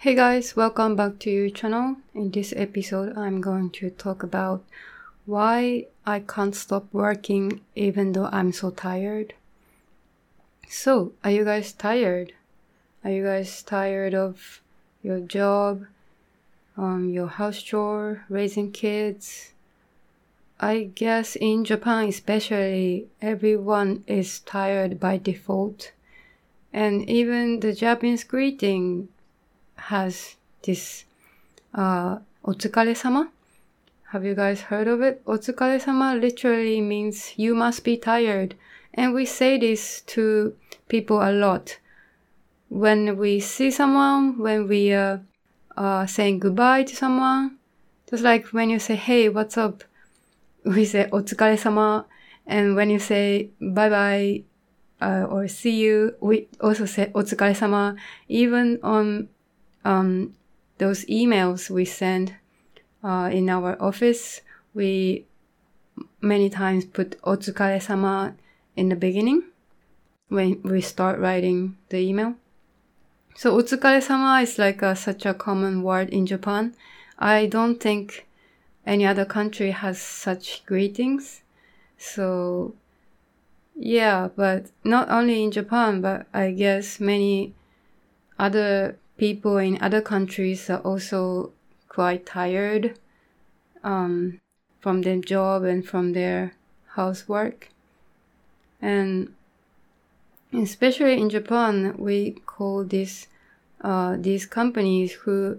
Hey guys, welcome back to your channel. In this episode, I'm going to talk about why I can't stop working even though I'm so tired. So, are you guys tired? Are you guys tired of your job, your house chore, raising kids? I guess in Japan especially, everyone is tired by default. And even the Japanese greeting has this otsukare-sama. Have you guys heard of it? Otsukare-sama literally means you must be tired. And we say this to people a lot. When we see someone, when we are saying goodbye to someone, just like when you say, hey, what's up? We say otsukare-sama. And when you say bye-bye or see you, we also say otsukare-sama. Even on those emails we send in our office, we many times put otsukare-sama in the beginning when we start writing the email. So otsukare-sama is like such a common word in Japan. I don't think any other country has such greetings. So yeah, but not only in Japan, but I guess many other people in other countries are also quite tired from their job and from their housework. And especially in Japan, we call these companies who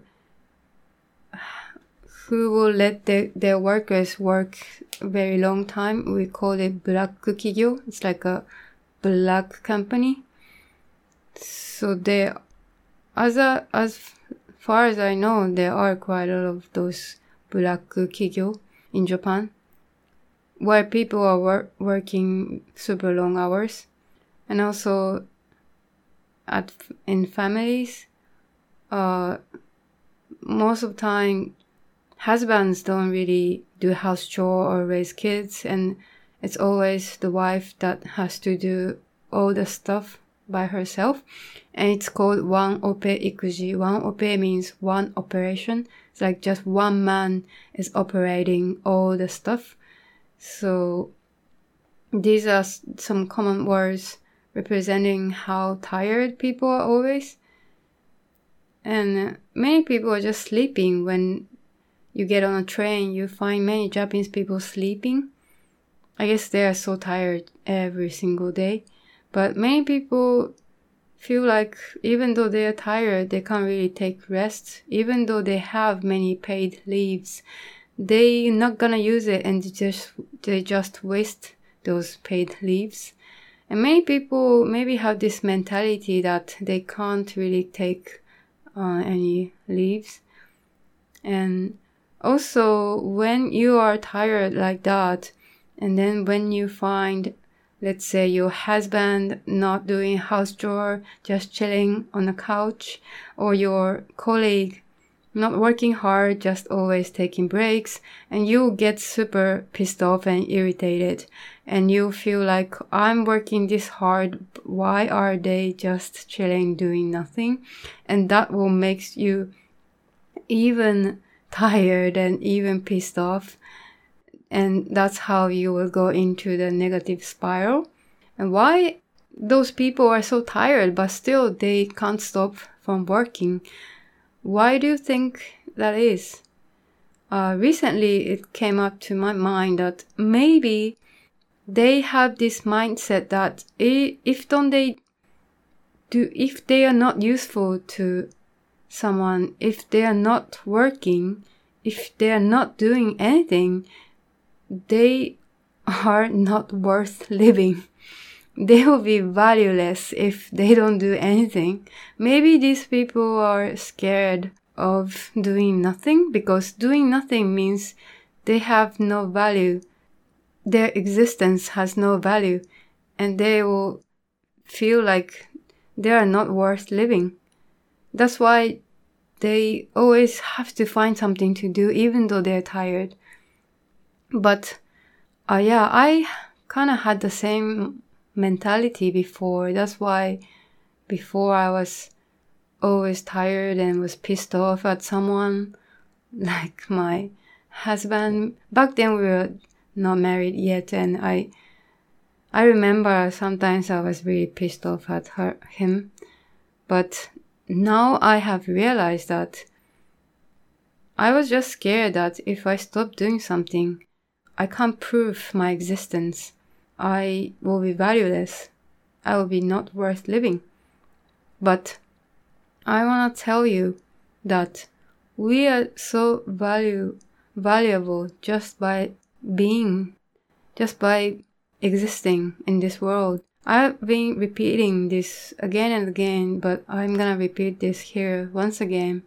will let their workers work a very long time. We call it black kigyo. It's like a black company. So they, as far as I know, there are quite a lot of those black kigyo in Japan, where people are working super long hours, and also in families, most of the time, husbands don't really do house chore or raise kids, and it's always the wife that has to do all the stuff by herself. And it's called one ope ikuji. One ope means one operation. It's like just one man is operating all the stuff. So these are some common words representing how tired people are always. And many people are just sleeping. When you get on a train, you find many Japanese people sleeping. I guess they are so tired every single day. But many people feel like even though they are tired, they can't really take rest. Even though they have many paid leaves, they're not gonna use it, and they just waste those paid leaves. And many people maybe have this mentality that they can't really take any leaves. And also, when you are tired like that, and then when you find, let's say, your husband not doing house chore, just chilling on the couch, or your colleague not working hard, just always taking breaks, and you get super pissed off and irritated, and you feel like, I'm working this hard, why are they just chilling, doing nothing? And that will make you even tired and even pissed off. And that's how you will go into the negative spiral. And why those people are so tired, but still they can't stop from working? Why do you think that is? Recently it came up to my mind that maybe they have this mindset that if they are not useful to someone, if they are not working, if they are not doing anything, they are not worth living. They will be valueless if they don't do anything. Maybe these people are scared of doing nothing, because doing nothing means they have no value. Their existence has no value, and they will feel like they are not worth living. That's why they always have to find something to do even though they're tired. But I kind of had the same mentality before. That's why before I was always tired and was pissed off at someone, like my husband. Back then we were not married yet, and I remember sometimes I was really pissed off at him. But now I have realized that I was just scared that if I stop doing something, I can't prove my existence. I will be valueless. I will be not worth living. But I want to tell you that we are so valuable just by being, just by existing in this world. I've been repeating this again and again, but I'm gonna repeat this here once again.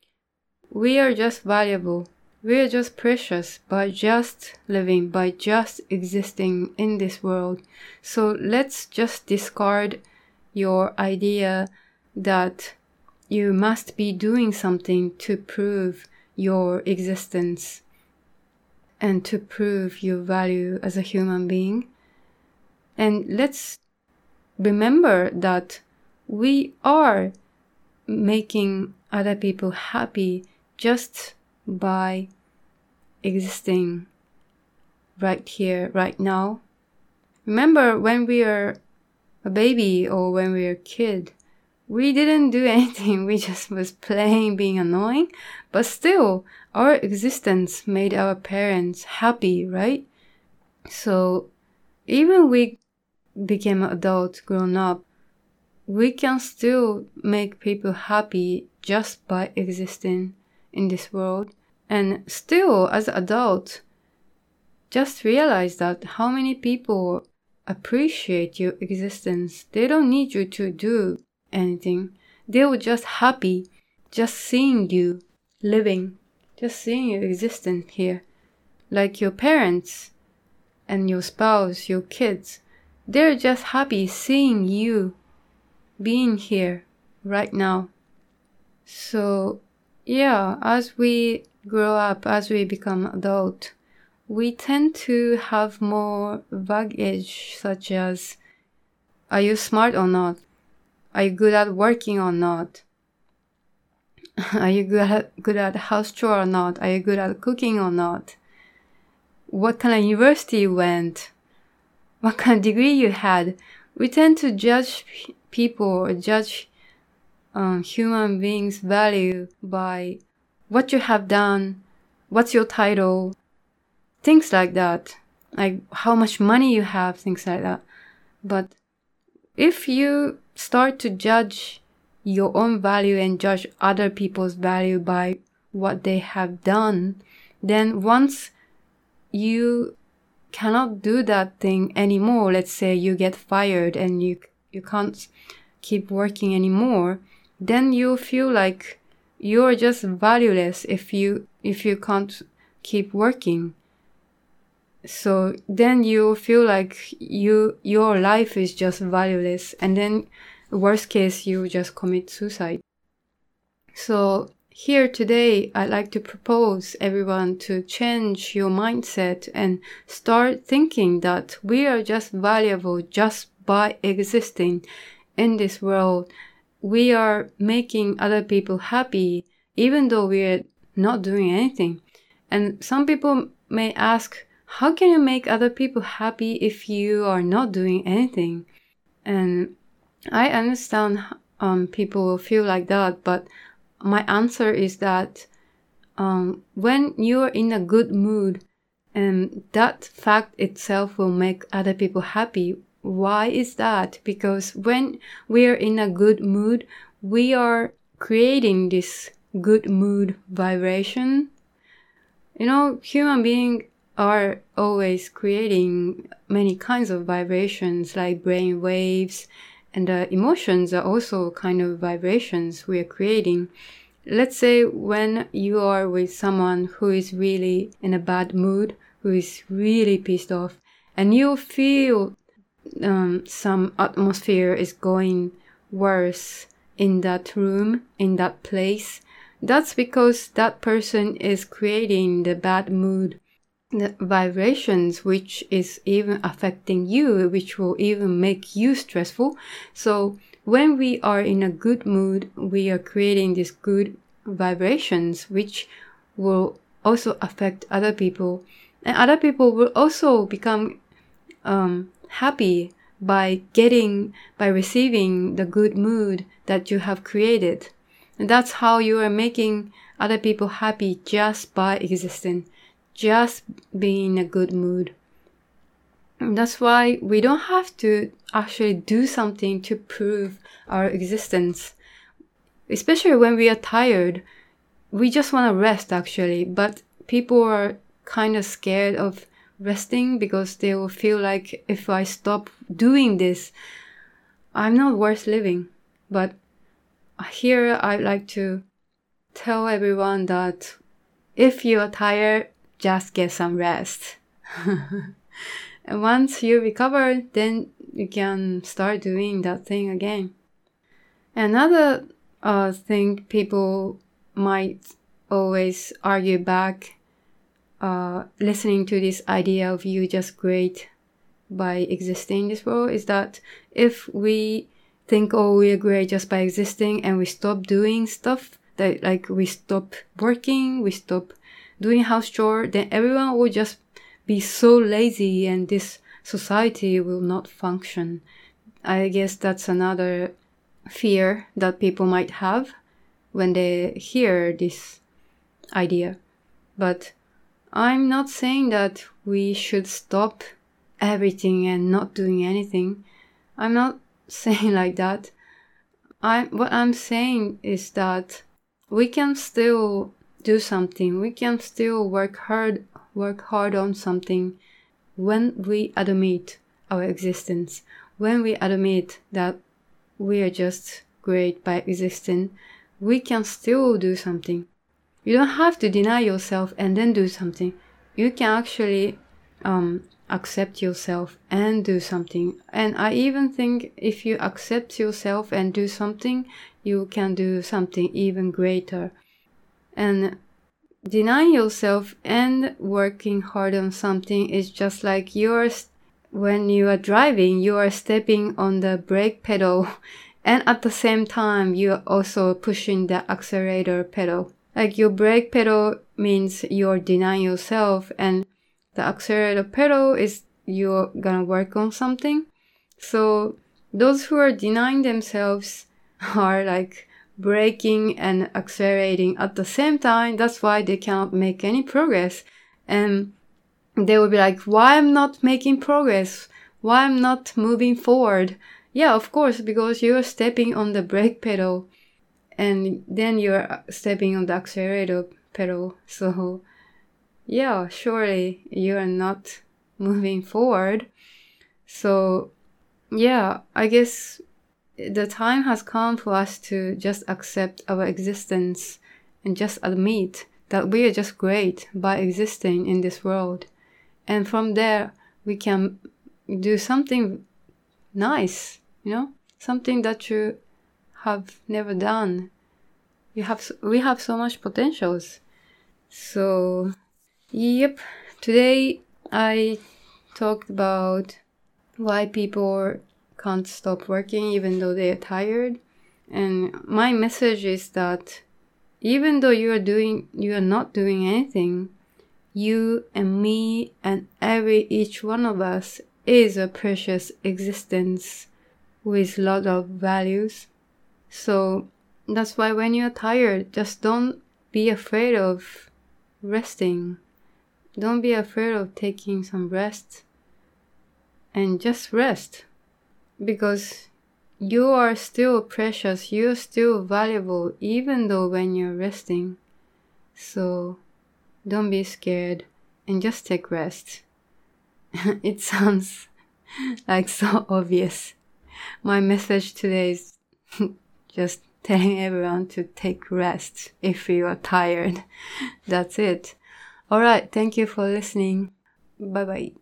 We are just valuable. We are just precious by just living, by just existing in this world. So let's just discard your idea that you must be doing something to prove your existence and to prove your value as a human being. And let's remember that we are making other people happy just by existing right here, right now. Remember when we were a baby or when we were a kid, we didn't do anything. We just was playing, being annoying. But still, our existence made our parents happy, right? So even we became an adult, grown up, we can still make people happy just by existing in this world. And still, as an adult, just realize that how many people appreciate your existence. They don't need you to do anything. They were just happy just seeing you living, just seeing you existing here. Like your parents and your spouse, your kids, they're just happy seeing you being here right now. So yeah, as we grow up, as we become adult, we tend to have more baggage, such as, are you smart or not? Are you good at working or not? Are you good at house chore or not? Are you good at cooking or not? What kind of university you went? What kind of degree you had? We tend to judge people or judge human beings' value by what you have done, what's your title, things like that, like how much money you have, things like that. But if you start to judge your own value and judge other people's value by what they have done, then once you cannot do that thing anymore, let's say you get fired and you can't keep working anymore, then you feel like you're just valueless if you can't keep working. So then you feel like your life is just valueless, and then worst case you just commit suicide. So here today I'd like to propose everyone to change your mindset and start thinking that we are just valuable just by existing in this world. We are making other people happy even though we're not doing anything. And some people may ask, how can you make other people happy if you are not doing anything? And I understand people will feel like that, but my answer is that when you're in a good mood, and that fact itself will make other people happy. Why is that? Because when we're in a good mood, we are creating this good mood vibration. You know, human beings are always creating many kinds of vibrations, like brain waves, and emotions are also kind of vibrations we are creating. Let's say when you are with someone who is really in a bad mood, who is really pissed off, and you feel some atmosphere is going worse in that room, in that place, that's because that person is creating the bad mood, the vibrations, which is even affecting you, which will even make you stressful. So when we are in a good mood, we are creating these good vibrations, which will also affect other people. And other people will also become happy by receiving the good mood that you have created. And that's how you are making other people happy, just by existing, just being in a good mood. And that's why we don't have to actually do something to prove our existence. Especially when we are tired, we just want to rest actually, but people are kind of scared of resting because they will feel like, if I stop doing this, I'm not worth living. But here I'd like to tell everyone that if you are tired, just get some rest. And once you recover, then you can start doing that thing again. Another thing people might always argue back, listening to this idea of you just great by existing in this world, is that if we think, oh, we're great just by existing, and we stop doing stuff, that like we stop working, we stop doing house chore, then everyone will just be so lazy and this society will not function. I guess that's another fear that people might have when they hear this idea. But I'm not saying that we should stop everything and not doing anything. I'm not saying like that. What I'm saying is that we can still do something. We can still work hard on something when we admit our existence, when we admit that we are just great by existing. We can still do something. You don't have to deny yourself and then do something. You can actually accept yourself and do something. And I even think if you accept yourself and do something, you can do something even greater. And denying yourself and working hard on something is just like when you are driving, you are stepping on the brake pedal and at the same time you are also pushing the accelerator pedal. Like your brake pedal means you're denying yourself, and the accelerator pedal is you're gonna work on something. So those who are denying themselves are like braking and accelerating at the same time. That's why they cannot make any progress. And they will be like, why I'm not making progress? Why I'm not moving forward? Yeah, of course, because you're stepping on the brake pedal and then you're stepping on the accelerator pedal. So yeah, surely you're not moving forward. So yeah, I guess the time has come for us to just accept our existence and just admit that we are just great by existing in this world. And from there, we can do something nice, something that you have never done. We have so much potentials. So, yep, today I talked about why people can't stop working even though they are tired. And my message is that even though you are not doing anything, you and me and each one of us is a precious existence with a lot of values. So that's why when you're tired, just don't be afraid of resting. Don't be afraid of taking some rest. And just rest. Because you are still precious, you're still valuable, even though when you're resting. So don't be scared and just take rest. It sounds like so obvious. My message today is just telling everyone to take rest if you are tired. That's it. Alright, thank you for listening. Bye bye.